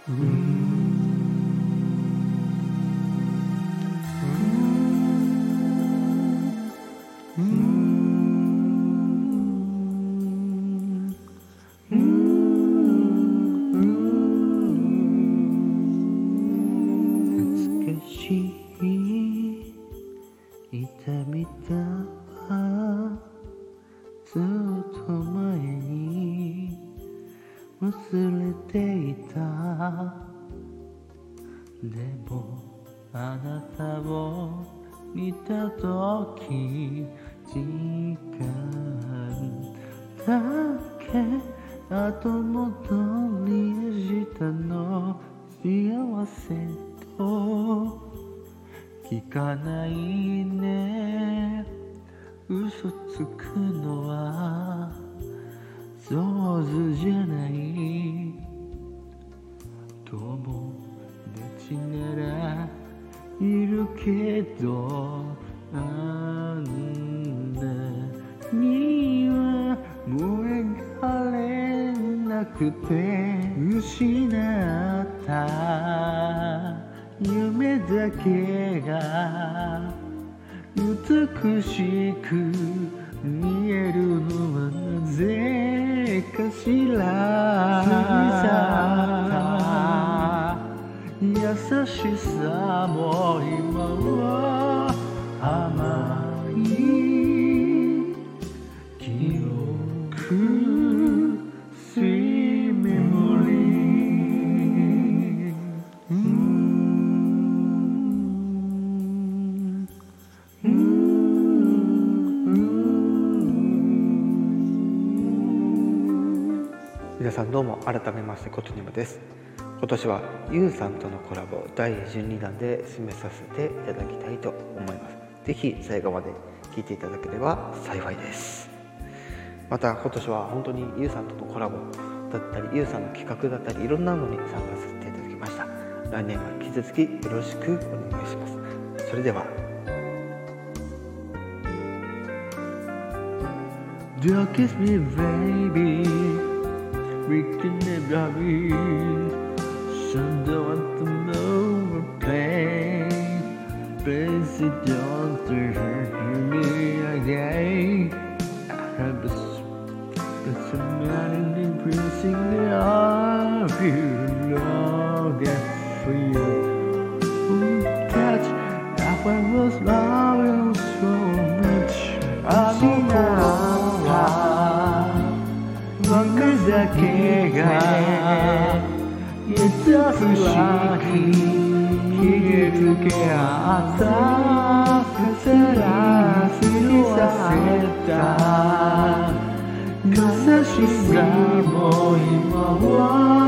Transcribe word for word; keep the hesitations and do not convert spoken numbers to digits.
痛みだはずっと前に忘れていた。でもあなたを見たとき時間だけ後戻りしたの。幸せと聞かないね。嘘つくのは上手じゃない。友達ならいるけどあんなにはもえがれなくて失った夢だけが美しく見えるのはなぜかしら。優しさも今は甘い記憶 Sweet memory。 皆さんどうも、改めましてことにむです。今年はゆうさんとのコラボだいじゅうにだんで締めさせていただきたいと思います。ぜひ最後まで聴いていただければ幸いです。また今年は本当にゆうさんとのコラボだったり、ゆうさんの企画だったり、いろんなのに参加させていただきました。来年は引き続きよろしくお願いします。それでは Don't kiss me baby, we can never be. So don't want to know a pain. Please don't hurt me again. I have a personality pressing of you, longing for you. Touch, I was loving so much. I'm not.僕だけが優しく傷つけ合った重なりさせた優しさも今は